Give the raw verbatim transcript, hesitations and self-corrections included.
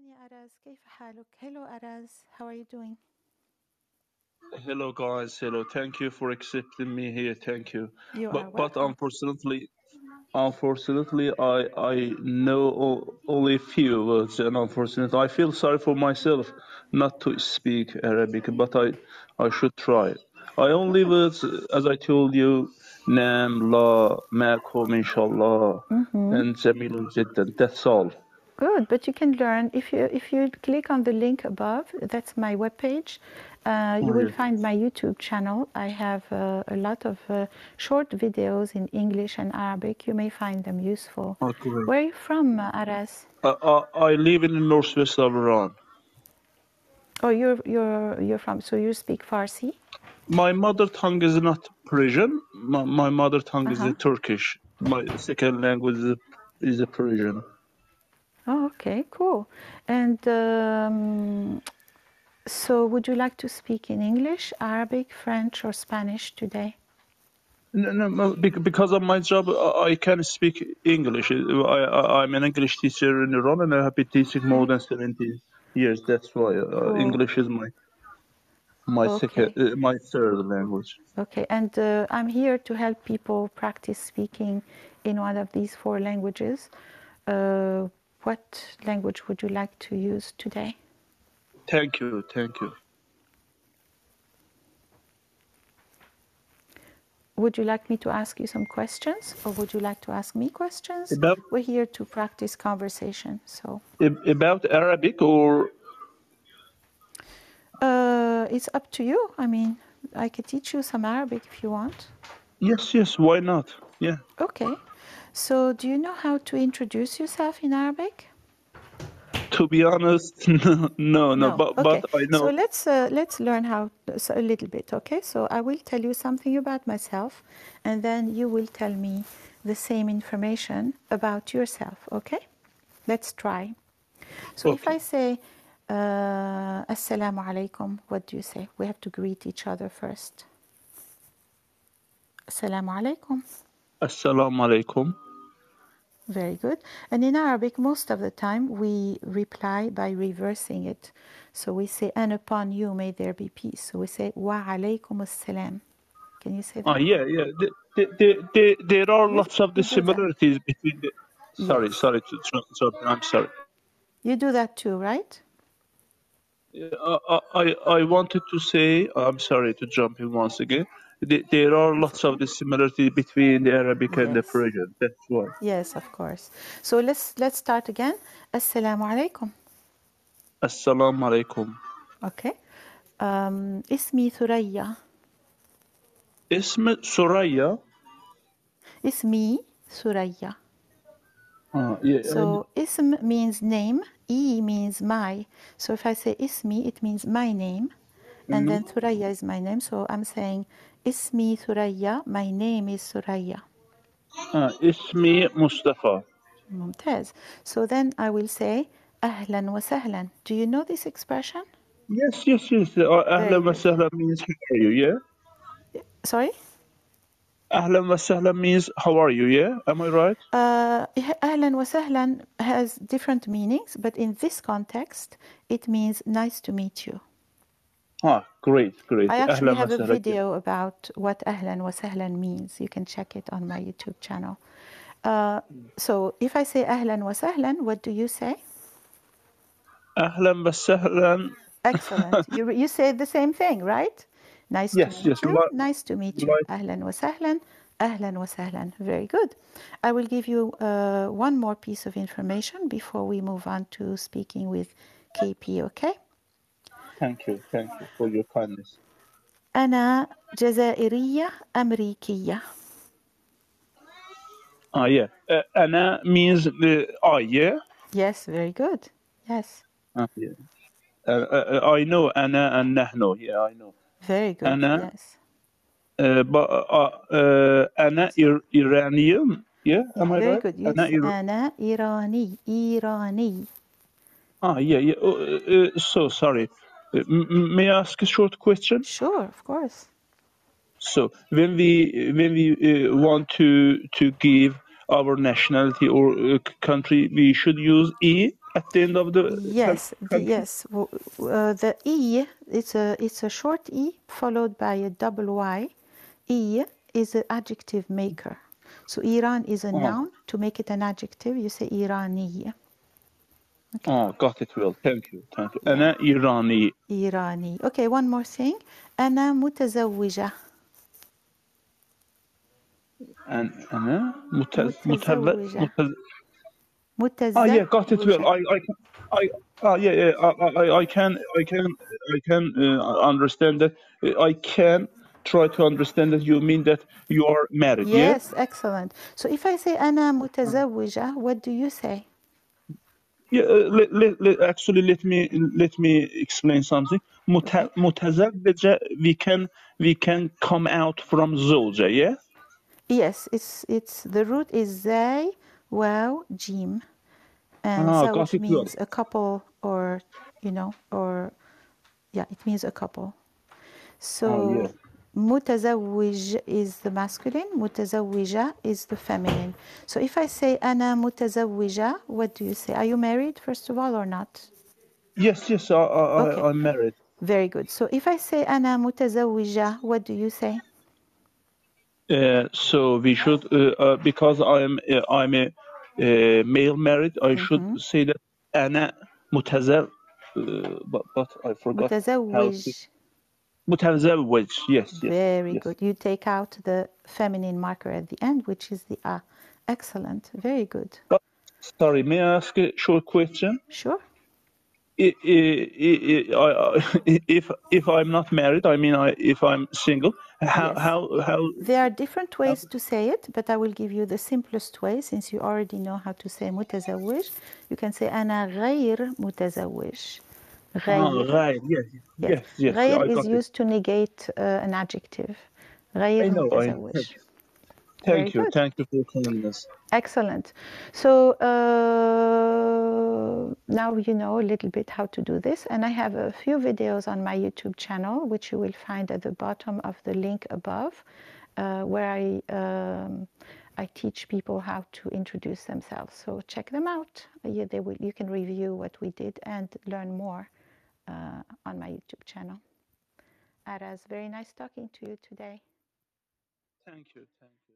يا أراز كيف حالك? Hello Araz, how are you doing? Hello guys, hello. Thank you for accepting me here. Thank you. You But are but welcome. unfortunately, unfortunately, I I know o- only a few words, and unfortunately, I feel sorry for myself not to speak Arabic, but I I should try. I only Good. words, as I told you, Nam, La, Makum, Inshallah, Mm-hmm. and Jamilun Jiddan. That's all. Good, but you can learn if you if you click on the link above. That's my webpage. Uh, you Oh, will yeah. find my YouTube channel. I have uh, a lot of uh, short videos in English and Arabic. You may find them useful. Oh, great. Where are you from, uh, Aras? I, I I live in the northwest of Iran. Oh, you're you're you're from. So you speak Farsi? My mother tongue is not Persian. My, my mother tongue Uh is huh. uh, Turkish. My second language is, is a Persian. Oh, okay, cool. And um, so, would you like to speak in English, Arabic, French, or Spanish today? No, no, no, bec- because of my job, I I can speak English. I, I, I'm an English teacher in Iran, and I have been teaching more Okay, than seventy years. That's why uh, cool. English is my my second, Okay, uh, my third language. okay. And uh, I'm here to help people practice speaking in one of these four languages. Uh, what language would you like to use today? Thank you, thank you. Would you like me to ask you some questions, or would you like to ask me questions? About We're here to practice conversation, so ab- about Arabic or uh, it's up to you. I mean, I could teach you some Arabic if you want. yes, yes, why not? Yeah. Okay. So, do you know how to introduce yourself in Arabic? To be honest, no, no, no, No. but but Okay. I So know. let's uh, let's learn how so a little bit. Okay. So I will tell you something about myself, and then you will tell me the same information about yourself. Okay. Let's try. So if Okay. I say uh, Assalamu alaikum, what do you say? We have to greet each other first. Assalamu alaikum. Assalamu alaikum. Very good. And in Arabic, most of the time we reply by reversing it. So we say, and upon you may there be peace. So we say, wa alaykum as-salam. Can you say Ah, that? yeah, yeah. The, the, the, the, there are We, lots of the we do that. similarities between the. Sorry, Yes. sorry to interrupt. I'm sorry. You do that too, right? Yeah, I, I, I wanted to say, I'm sorry to jump in once again. The, there are It's lots of okay. the similarity between the Arabic and the Yes. Persian. That's why. Yes, of course. So let's let's start again. Assalamu alaikum. Assalamu alaikum. Okay. Um, اسمي ثريا. Ism Suraya. اسمي ثريا. Ah, yeah, I, So ism means name, e means my. So if I say ismi, it means my name, and mhm. then Thuraya is my name. So I'm saying ismi Thuraya, my name is Thuraya. ah, Ismi Mustafa. Mumtaz. So then I will say ahlan wa sahlan. Do you know this expression? Yes, yes, yes. Uh, Very Ahlan wa good. sahlan means how are you, yeah? Sorry? Ahlan wa sahlan means how are you, yeah? Am I right? Uh, ahlan wa sahlan has different meanings, but in this context, it means nice to meet you. Ah, great, great. I actually Ahlan wa have a sahlan. video about what ahlan wa sahlan means. You can check it on my YouTube channel. Uh, so if I say ahlan wa sahlan, what do you say? Ahlan wa sahlan. Excellent. You, you say the same thing, right? Nice to Yes, meet yes. you. Like, Nice to meet you. like, Ahlan wa sahlan. Ahlan wa sahlan. Very good. I will give you uh, one more piece of information before we move on to speaking with K P, okay? thank you, thank you for your kindness. أنا جزائرية أمريكية. Ah, yeah. Uh, ana means the I, yeah? Yes, very good. Yes. Ah, yeah. Uh, uh, uh, I know ana and nahno. Yeah, I know. Very good. Ana, Yes. uh, but uh, uh, ana Ir- Iranian. Yeah, am I Very right? good. Ana Yes. Ir- أنا إيراني. إيراني. ah, yeah, yeah. Oh, uh, uh, so sorry. Uh, m- m- may I ask a short question? Sure, of course. So when we when we uh, want to to give our nationality or uh, c- country, we should use E. at the end of the Yes, the, country? yes. W- Uh, the E, it's a, it's a short E followed by a double Y. E is an adjective maker. So Iran is a Oh, noun. To make it an adjective, you say Irani. Okay. oh, got it well. Thank you. Thank you. Yeah. أنا إيراني. Irani. Okay, one more thing. أنا متزوجة. And أنا متز متز متزوجة. متز Oh yeah, got it well. متزوجة. I I can- I uh, yeah yeah I, I I can I can I can uh, understand that. Uh, I can try to understand that you mean that you are married. Yeah. Yes, excellent. So if I say أنا متزوجة, what do you say? Yeah. Uh, let, let, let, actually, let me let me explain something. Okay. مت- متزوجة, we can we can come out from زوجة. Yeah. Yes, it's it's the root is زي واو جيم, and Ah, got زوج it well. means a couple, or you know, or yeah, it means a couple. Oh yeah. So متزوج is the masculine, متزوجة is the feminine. So if I say أنا متزوجة, what do you say? Are you married first of all or not? Yes, yes. I I Okay, I- I'm married. very good. So if I say أنا متزوجة, what do you say? Uh, so we should, uh, uh, because I'm uh, I'm a uh, male married, I should say that أنا متزوج, uh, but but I forgot how to. متزوج. متزوج. Yes, yes, Very yes. good. You take out the feminine marker at the end, which is the A. Excellent. Very good. But sorry, may I ask a short question? Sure. I, I, I, I, if if I'm not married, I mean, I, if I'm single, how Yes. how how? There are different how ways to say it, but I will give you the simplest way since you already know how to say متزوج. You can say أنا غير متزوج. ah, غير. right. Yes, Yes. yes, yes. غير I is got it. used to negate uh, an adjective. I غير know. I متزوج. Very thank you. good. Thank you for calling us. Excellent. So uh, now you know a little bit how to do this, and I have a few videos on my YouTube channel, which you will find at the bottom of the link above, uh, where I um, I teach people how to introduce themselves. So check them out. You, they will, you can review what we did and learn more uh, on my YouTube channel. Aras, very nice talking to you today. Thank you. Thank you.